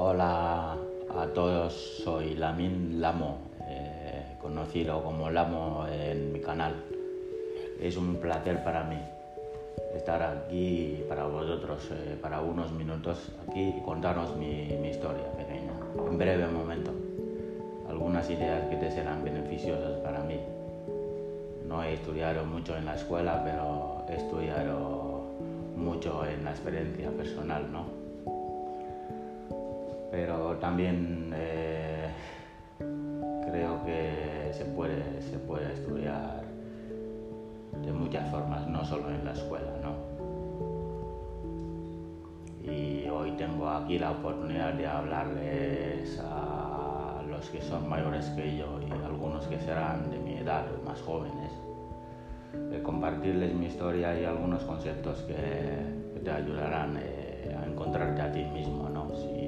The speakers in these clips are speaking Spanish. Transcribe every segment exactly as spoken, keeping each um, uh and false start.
Hola a todos, soy Lamin Lamo, eh, conocido como Lamo en mi canal. Es un placer para mí estar aquí para vosotros, eh, para unos minutos aquí y contaros mi, mi historia pequeña, en breve momento. Algunas ideas que te serán beneficiosas para mí. No he estudiado mucho en la escuela, pero he estudiado mucho en la experiencia personal, ¿no? Pero también eh, creo que se puede, se puede estudiar de muchas formas, no solo en la escuela, ¿no? Y hoy tengo aquí la oportunidad de hablarles a los que son mayores que yo y algunos que serán de mi edad o más jóvenes, de compartirles mi historia y algunos conceptos que, que te ayudarán eh, a encontrarte a ti mismo, ¿no? Si,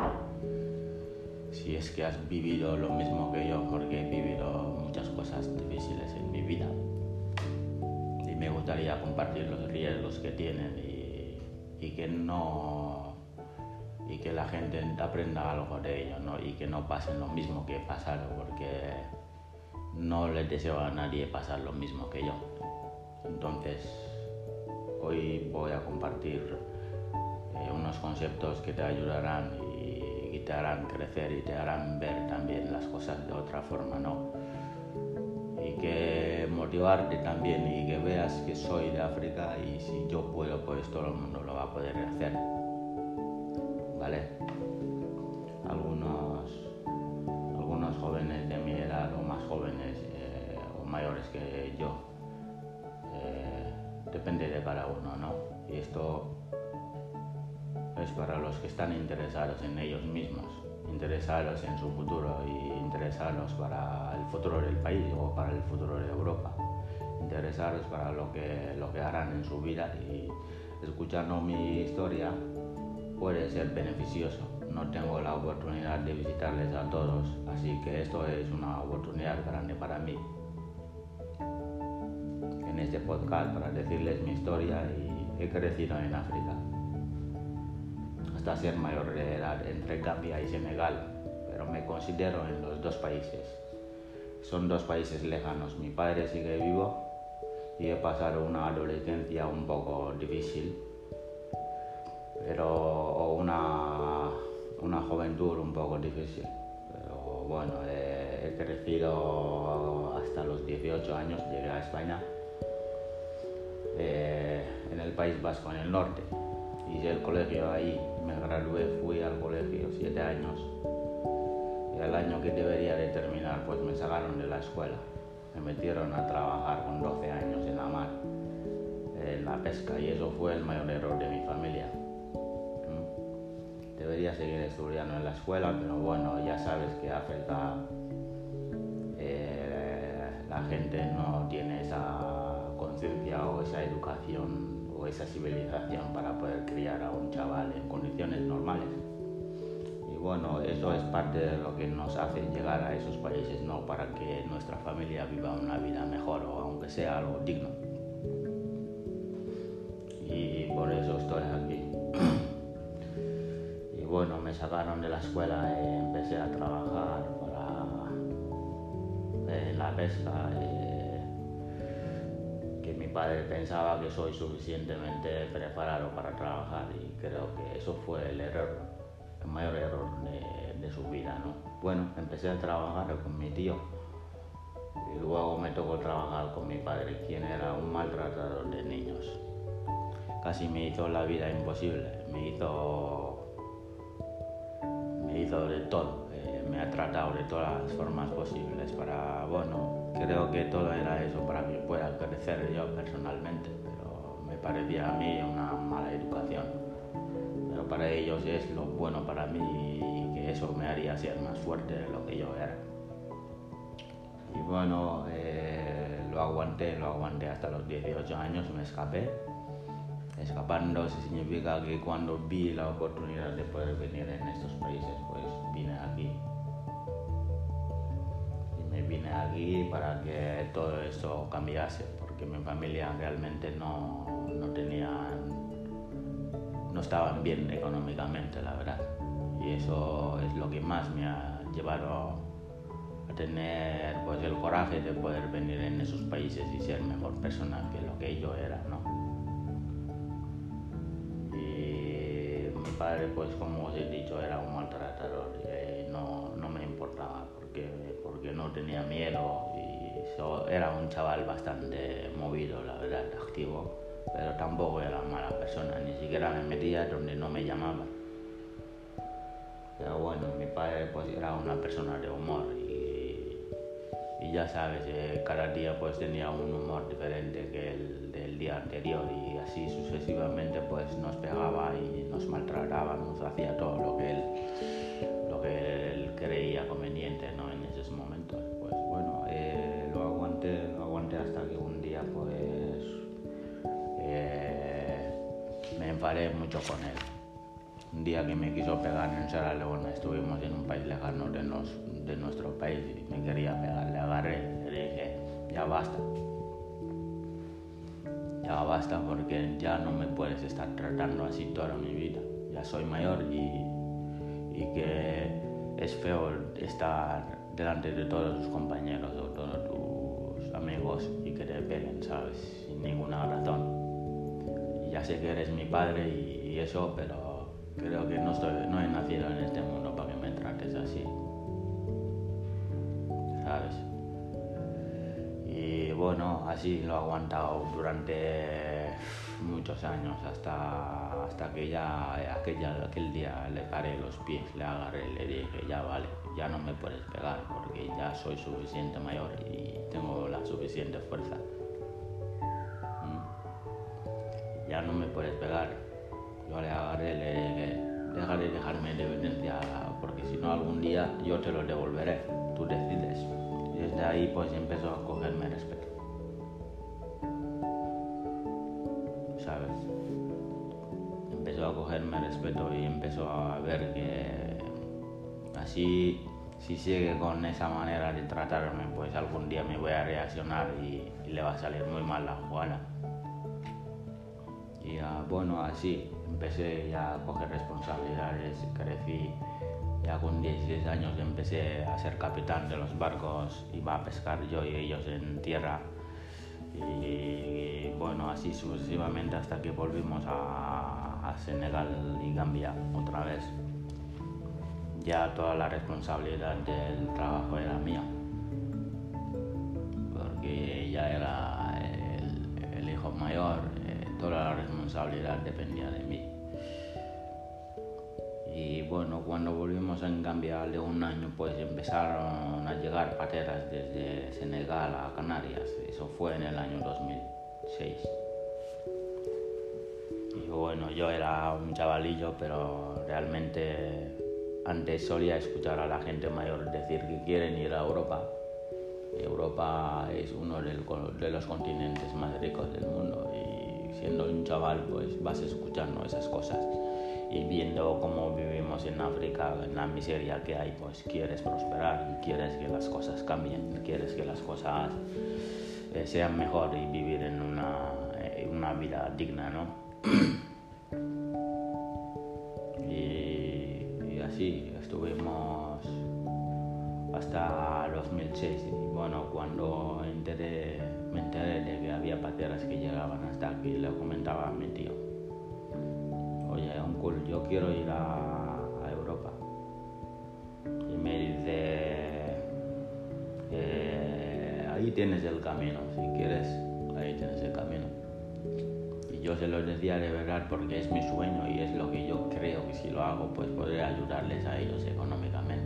si es que has vivido lo mismo que yo, porque he vivido muchas cosas difíciles en mi vida y me gustaría compartir los riesgos que tienen y, y que no y que la gente aprenda algo de ello, ¿no? Y que no pasen lo mismo que he pasado, porque no les deseo a nadie pasar lo mismo que yo. Entonces hoy voy a compartir eh, unos conceptos que te ayudarán y y te harán crecer y te harán ver también las cosas de otra forma, ¿no? Y que motivarte también y que veas que soy de África y si yo puedo, pues todo el mundo lo va a poder hacer, ¿vale? Algunos, algunos jóvenes de mi edad o más jóvenes eh, o mayores que yo, eh, depende de cada uno, ¿no? Y esto es para los que están interesados en ellos mismos, interesados en su futuro y interesados para el futuro del país o para el futuro de Europa, interesados para lo que, lo que harán en su vida, y escuchando mi historia puede ser beneficioso. No tengo la oportunidad de visitarles a todos, así que esto es una oportunidad grande para mí en este podcast para decirles mi historia. Y he crecido en África hasta ser mayor de edad entre Gambia y Senegal, pero me considero en los dos países. Son dos países lejanos. Mi padre sigue vivo y he pasado una adolescencia un poco difícil, pero o una, una juventud un poco difícil. Pero bueno, he, he crecido hasta los dieciocho años, llegué a España, eh, en el País Vasco, en el norte. Hice el colegio ahí, me gradué, fui al colegio siete años y al año que debería de terminar pues me sacaron de la escuela, me metieron a trabajar con doce años en la mar, en la pesca, y eso fue el mayor error de mi familia. Debería seguir estudiando en la escuela, pero bueno, ya sabes que África, eh, la gente no tiene esa conciencia o esa educación o esa civilización para poder criar a un chaval en condiciones normales. Y bueno, eso es parte de lo que nos hace llegar a esos países, ¿no? Para que nuestra familia viva una vida mejor o aunque sea algo digno. Y por eso estoy aquí. Y bueno, me sacaron de la escuela y empecé a trabajar para en la pesca. Eh, que mi padre pensaba que soy suficientemente preparado para trabajar, y creo que eso fue el error, el mayor error de, de su vida, ¿no? Bueno, empecé a trabajar con mi tío y luego me tocó trabajar con mi padre, quien era un maltratador de niños. Casi me hizo la vida imposible, me hizo, me hizo de todo, eh, me ha tratado de todas las formas posibles para, bueno, creo que todo era eso para que pueda crecer yo personalmente, pero me parecía a mí una mala educación. Pero para ellos es lo bueno para mí y que eso me haría ser más fuerte de lo que yo era. Y bueno, eh, lo aguanté, lo aguanté hasta los dieciocho años, me escapé. Escapando significa que cuando vi la oportunidad de poder venir en estos países, pues vine aquí. Me vine aquí para que todo esto cambiase, porque mi familia realmente no, no tenían, no estaban bien económicamente, la verdad. y eso es lo que más me ha llevado a tener pues el coraje de poder venir en esos países y ser mejor persona que lo que yo era, ¿no? Y mi padre, pues como os he dicho, era un maltratador y no, no me importaba porque, porque no tenía miedo y so, era un chaval bastante movido, la verdad, activo, pero tampoco era mala persona, ni siquiera me metía donde no me llamaban. Pero bueno, mi padre pues era una persona de humor y, y ya sabes, eh, cada día pues tenía un humor diferente que el del día anterior y así sucesivamente pues nos pegaba y nos maltrataba, nos hacía todo lo que él, lo que él creía conveniente, ¿no? En esos momentos. Pues bueno, eh, lo aguanté, lo aguanté hasta que un día pues eh, me enfadé mucho con él. Un día que me quiso pegar en Sierra Leona, estuvimos en un país lejano de, nos, de nuestro país y me quería pegar, le agarré, le dije, ya basta, ya basta porque ya no me puedes estar tratando así toda mi vida, ya soy mayor y, y que es feo estar delante de todos tus compañeros o todos tus amigos y que te peguen, ¿sabes? Sin ninguna razón. Y ya sé que eres mi padre y, y eso, pero creo que no, estoy, no he nacido en este mundo para que me trates así, ¿sabes? Y bueno, así lo he aguantado durante muchos años, hasta, hasta que ya aquella, aquel día le paré los pies, le agarré y le dije, ya vale, ya no me puedes pegar porque ya soy suficiente mayor y tengo la suficiente fuerza. ¿Mm? Ya no me puedes pegar. Yo le agarré, le dije, deja de dejarme de evidencia porque si no algún día yo te lo devolveré, tú decides. Y desde ahí pues empezó a cogerme respeto, ¿sabes? Empezó a cogerme respeto y empezó a ver que así, si sigue con esa manera de tratarme, pues algún día me voy a reaccionar y, y le va a salir muy mal la jugada. Y uh, bueno, así empecé ya a coger responsabilidades, crecí, ya con dieciséis años empecé a ser capitán de los barcos, iba a pescar yo y ellos en tierra y, y bueno, así sucesivamente hasta que volvimos a, a Senegal y Gambia otra vez. Ya toda la responsabilidad del trabajo era mía, porque ya era el, el hijo mayor, eh, toda la responsabilidad dependía de mí. Y bueno, cuando volvimos en Gambia de un año, pues empezaron a llegar pateras desde Senegal a Canarias. Eso fue en el año dos mil seis. Y bueno, yo era un chavalillo, pero realmente antes solía escuchar a la gente mayor decir que quieren ir a Europa. Europa es uno de los continentes más ricos del mundo y siendo un chaval pues vas escuchando esas cosas y viendo cómo vivimos en África, en la miseria que hay, pues quieres prosperar y quieres que las cosas cambien, quieres que las cosas eh, sean mejor y vivir en una, eh, una vida digna, ¿no? y, y así estuvimos hasta dos mil seis y bueno, cuando enteré, me enteré de que había pateras que llegaban hasta aquí, le comentaba a mi tío, oye, uncle, yo quiero ir a, a Europa. Y me dice, eh, ahí tienes el camino, si quieres, ahí tienes el camino. Y yo se lo decía de verdad porque es mi sueño y es lo que yo creo que si lo hago, pues podré ayudarles a ellos económicamente.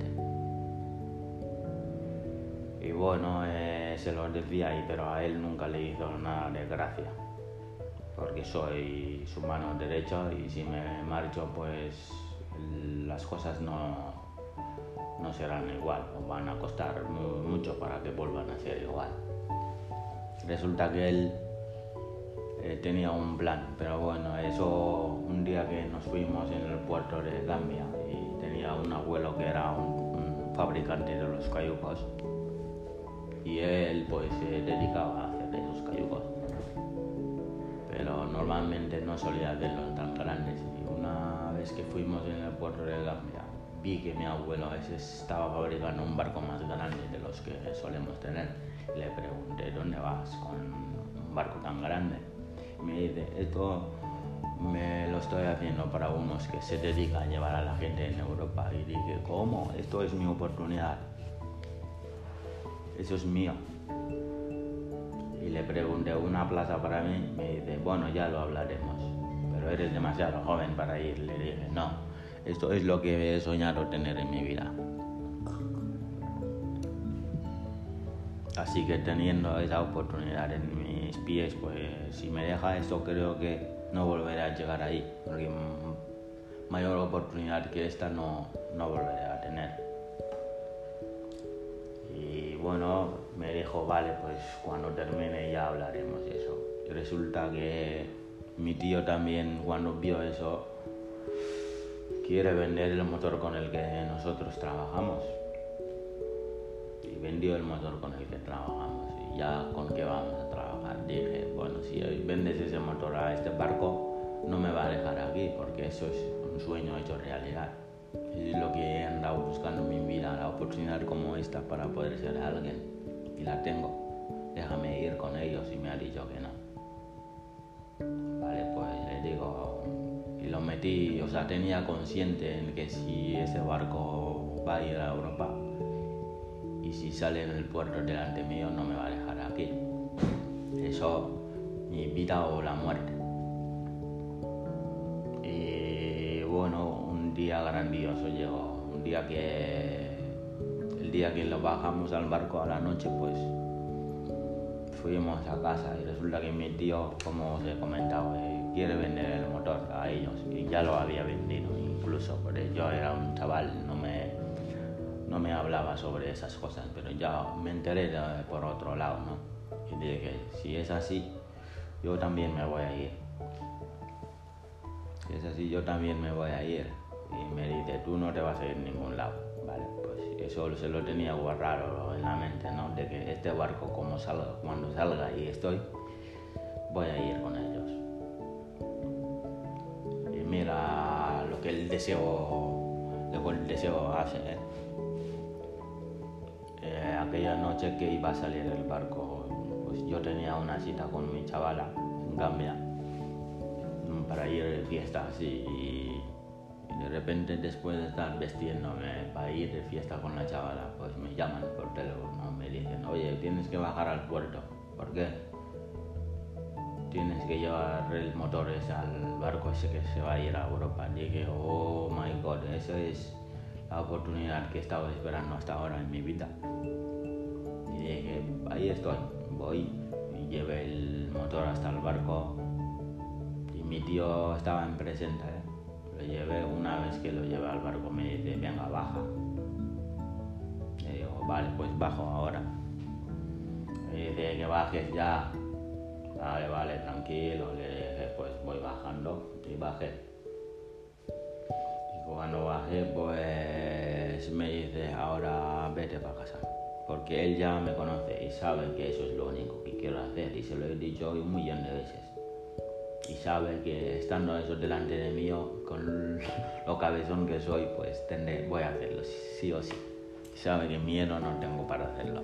Y bueno, eh, se lo decía ahí, pero a él nunca le hizo nada de gracia, porque soy su mano derecha y si me marcho pues las cosas no, no serán igual o van a costar mu- mucho para que vuelvan a ser igual. Resulta que él eh, tenía un plan, pero bueno, eso un día que nos fuimos en el puerto de Gambia y tenía un abuelo que era un, un fabricante de los cayucos y él pues se dedicaba a hacer esos cayucos, pero normalmente no solía hacerlos tan grandes. Y una vez que fuimos en el puerto de Gambia, vi que mi abuelo ese estaba fabricando un barco más grande de los que solemos tener. Le pregunté, ¿dónde vas con un barco tan grande? Me dice, esto me lo estoy haciendo para unos que se dedican a llevar a la gente en Europa. Y dije, ¿cómo? Esto es mi oportunidad. Eso es mío. Y le pregunté, ¿una plaza para mí? Me dice, bueno, ya lo hablaremos, pero eres demasiado joven para ir. Le dije, no, esto es lo que he soñado tener en mi vida. Así que teniendo esa oportunidad en mis pies, pues si me deja esto, creo que no volveré a llegar ahí, porque mayor oportunidad que esta no, no volveré a tener. Y bueno, me dijo, vale, pues cuando termine ya hablaremos de eso. Y resulta que mi tío también, cuando vio eso, quiere vender el motor con el que nosotros trabajamos. Y vendió el motor con el que trabajamos. Y ya, ¿con qué vamos a trabajar? Dije, bueno, si vendes ese motor a este barco, no me va a dejar aquí, porque eso es un sueño hecho realidad. Es lo que he andado buscando en mi vida, la oportunidad como esta para poder ser alguien. Y la tengo. Déjame ir con ellos, y me ha dicho que no. Vale, pues le digo, y lo metí, o sea, tenía consciente en que si ese barco va a ir a Europa y si sale en el puerto delante mío, no me va a dejar aquí. Eso, mi vida o la muerte. Y bueno, un día grandioso llegó, un día que, el día que lo bajamos al barco a la noche, pues fuimos a casa y resulta que mi tío, como os he comentado, eh, quiere vender el motor a ellos, y ya lo había vendido incluso, porque yo era un chaval, no me, no me hablaba sobre esas cosas, pero ya me enteré de, por otro lado, ¿no? Y dije, si es así, yo también me voy a ir. Si es así, yo también me voy a ir. Y me dice, tú no te vas a ir a ningún lado. Vale, pues eso se lo tenía guardado en la mente, ¿no? De que este barco, como salga, cuando salga y estoy, voy a ir con ellos. Y mira lo que el deseo, lo que el deseo hace, ¿eh? Eh, aquella noche que iba a salir el barco, pues yo tenía una cita con mi chavala en Gambia para ir de fiesta así, y de repente, después de estar vestiéndome para ir de fiesta con la chavala, pues me llaman por teléfono, me dicen, oye, tienes que bajar al puerto. ¿Por qué? Tienes que llevar el motor ese al barco ese que se va a ir a Europa. Dije, oh my god, esa es la oportunidad que estaba esperando hasta ahora en mi vida. Y dije, ahí estoy, voy, y llevé el motor hasta el barco, y mi tío estaba en presente, ¿eh? Lo llevé. Una vez que lo llevé al barco me dice, venga, baja. Le digo, vale, pues bajo ahora. Me dice que bajes ya. Vale, vale, tranquilo. Le dije, pues voy bajando, y bajé. Y cuando bajé, pues me dice, ahora vete para casa. Porque él ya me conoce y sabe que eso es lo único que quiero hacer, y se lo he dicho un millón de veces. Y sabe que estando eso delante de mí, con lo cabezón que soy, pues tendré, voy a hacerlo sí o sí. Sabe que miedo no tengo para hacerlo.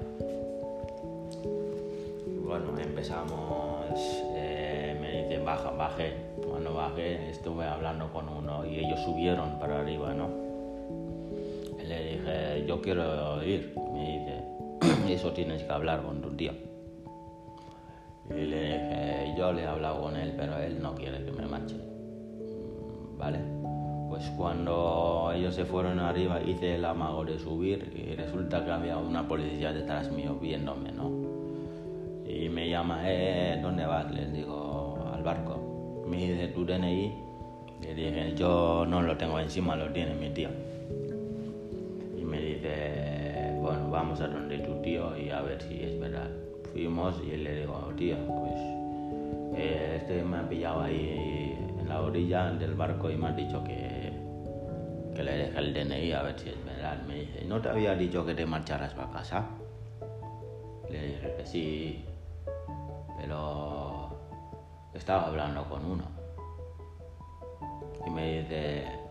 Bueno, empezamos, eh, me dice, baja, bajé. Cuando bajé estuve hablando con uno y ellos subieron para arriba, ¿no? Le dije, yo quiero ir. Me dice, eso tienes que hablar con tu tío. Y le dije, yo le he hablado con él, pero él no quiere que me marche. Vale, pues cuando ellos se fueron arriba, hice el amago de subir, y resulta que había una policía detrás mío viéndome, ¿no? Y me llama, eh, ¿dónde vas? Les digo, al barco. Me dice, ¿tu D N I? Le dije, yo no lo tengo encima, lo tiene mi tío. Y me dice, bueno, vamos a donde tu tío y a ver si es verdad. Fuimos y le digo, tío, pues eh, este me ha pillado ahí en la orilla del barco y me ha dicho que, que le deje el D N I a ver si es verdad. Me dice, ¿no te había dicho que te marcharas para casa? Le dije que sí, pero estaba hablando con uno. Y me dice,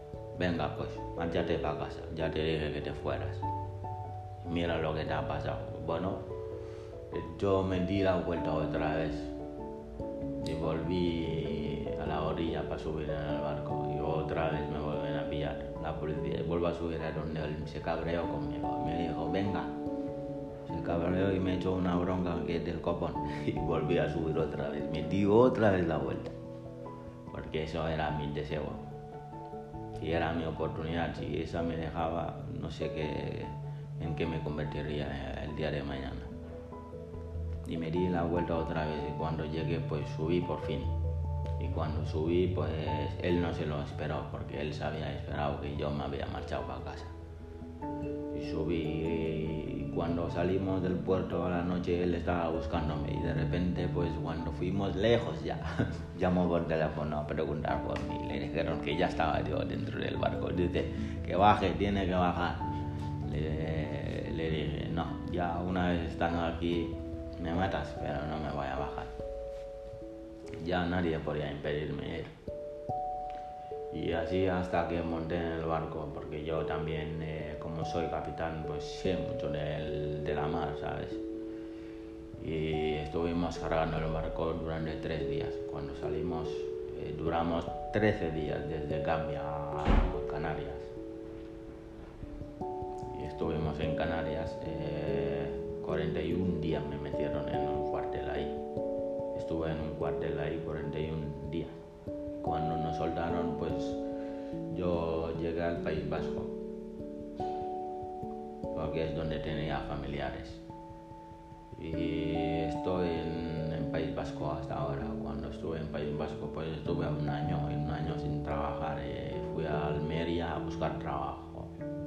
venga pues, márchate para casa, ya te dije que te fueras. Mira lo que te ha pasado. Bueno, yo me di la vuelta otra vez y volví a la orilla para subir en el barco y otra vez me vuelven a pillar la policía y vuelvo a subir a donde él se cabreó conmigo. Me dijo, venga. Se cabreó y me echó una bronca que es del copón y volví a subir otra vez. Me di otra vez la vuelta porque eso era mi deseo y era mi oportunidad. Si esa me dejaba, no sé qué, en qué me convertiría el día de mañana. Y me di la vuelta otra vez y cuando llegué pues subí por fin. Y cuando subí pues él no se lo esperó porque él se había esperado que yo me había marchado para casa. Y subí y cuando salimos del puerto a la noche él estaba buscándome y de repente pues cuando fuimos lejos ya llamó por teléfono a preguntar por mí. Le dijeron que ya estaba yo dentro del barco. Dice que baje, tiene que bajar. Le, le dije no, ya una vez estando aquí me matas, pero no me voy a bajar. Ya nadie podía impedirme ir. Y así hasta que monté en el barco, porque yo también, eh, como soy capitán, pues sé mucho del, de la mar, ¿sabes? Y estuvimos cargando el barco durante tres días. Cuando salimos, eh, duramos trece días desde Gambia a Canarias. Y estuvimos en Canarias, eh, cuarenta y un días me metieron en un cuartel ahí. Estuve en un cuartel ahí cuarenta y un días. Cuando nos soltaron, pues yo llegué al País Vasco, porque es donde tenía familiares. Y estoy en, en País Vasco hasta ahora. Cuando estuve en País Vasco, pues estuve un año, un año sin trabajar. Y fui a Almería a buscar trabajo.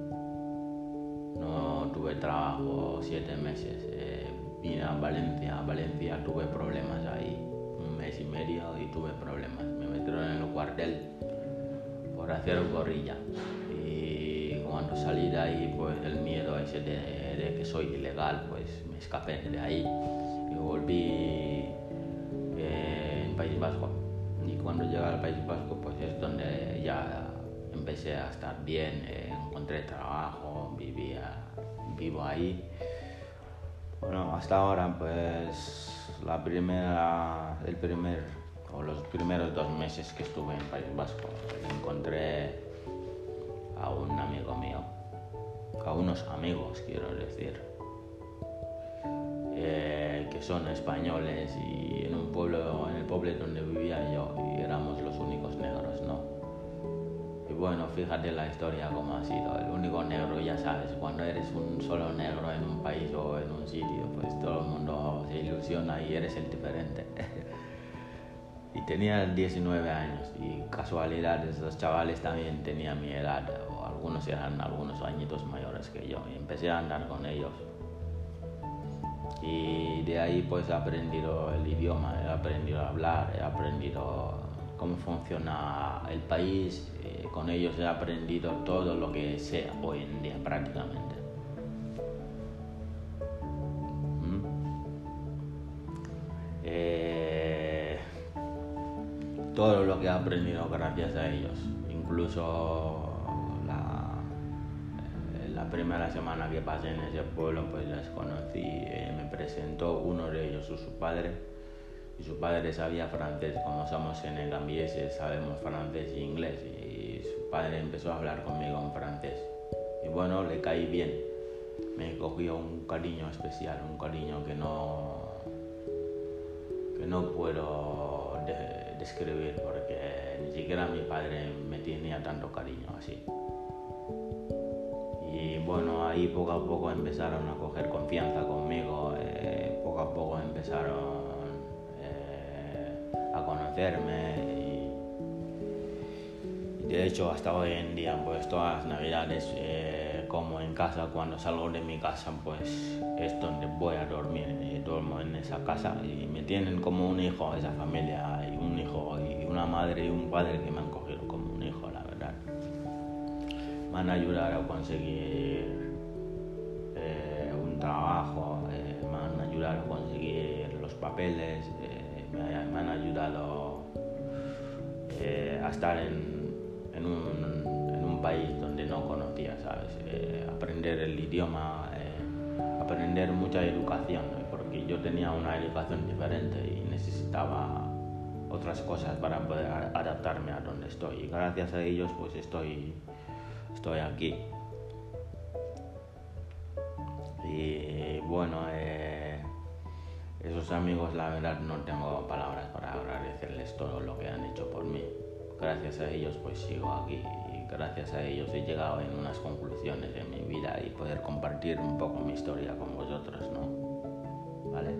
No tuve trabajo siete meses. Eh, vine a Valencia. A Valencia tuve problemas ahí, un mes y medio y tuve problemas. Me metieron en el cuartel por hacer gorrilla. Y cuando salí de ahí, pues el miedo ese de, de que soy ilegal, pues me escapé de ahí y volví eh, en País Vasco. Y cuando llegué al País Vasco, pues es donde ya empecé a estar bien, eh, encontré trabajo, vivía, vivo ahí. Bueno, hasta ahora, pues la primera, el primer o los primeros dos meses que estuve en País Vasco, encontré a un amigo mío, a unos amigos quiero decir, eh, que son españoles y en un pueblo, en el pueblo donde vivía yo, y éramos los únicos negros, ¿no? Y bueno, fíjate la historia como ha sido, el único negro, ya sabes, cuando eres un solo negro en un país o en un sitio, pues todo el mundo se ilusiona y eres el diferente. Y tenía diecinueve años y casualidad, esos chavales también tenían mi edad, o algunos eran algunos añitos mayores que yo, y empecé a andar con ellos. Y de ahí pues he aprendido el idioma, he aprendido a hablar, he aprendido cómo funciona el país, eh, con ellos he aprendido todo lo que sé hoy en día prácticamente. ¿Mm? Eh, todo lo que he aprendido gracias a ellos, incluso la, eh, la primera semana que pasé en ese pueblo pues les conocí, eh, me presentó uno de ellos, su, su padre. Y su padre sabía francés, como somos senegambieses, sabemos francés e inglés, y su padre empezó a hablar conmigo en francés. Y bueno, le caí bien, me cogió un cariño especial, un cariño que no, que no puedo de, describir, porque ni siquiera mi padre me tenía tanto cariño así. Y bueno, ahí poco a poco empezaron a coger confianza conmigo, eh, poco a poco empezaron a conocerme y, y de hecho hasta hoy en día pues todas las navidades eh, como en casa, cuando salgo de mi casa pues es donde voy a dormir, y duermo en esa casa y me tienen como un hijo, esa familia, y un hijo y una madre y un padre que me han cogido como un hijo, la verdad. Me han ayudado a conseguir eh, un trabajo, eh, me han ayudado a conseguir los papeles, eh, Me, me han ayudado eh, a estar en, en, un, en un país donde no conocía, ¿sabes? Eh, aprender el idioma, eh, aprender mucha educación, ¿no? Porque yo tenía una educación diferente y necesitaba otras cosas para poder adaptarme a donde estoy. Y gracias a ellos pues estoy, estoy aquí. Y bueno, eh, esos amigos, la verdad no tengo palabras para agradecerles todo lo que han hecho por mí. Gracias a ellos pues sigo aquí y gracias a ellos he llegado en unas conclusiones en mi vida y poder compartir un poco mi historia con vosotros, ¿no? ¿Vale?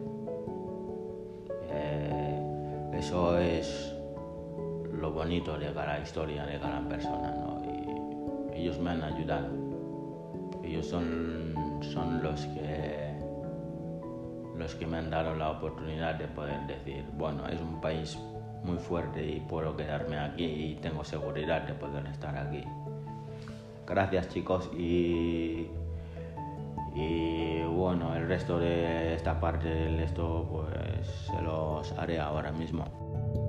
Eh, eso es lo bonito de cada historia de cada persona, ¿no? Y ellos me han ayudado. Ellos son, son los que los que me han dado la oportunidad de poder decir, bueno, es un país muy fuerte y puedo quedarme aquí y tengo seguridad de poder estar aquí. Gracias, chicos, y y bueno, el resto de esta parte del esto pues se los haré ahora mismo.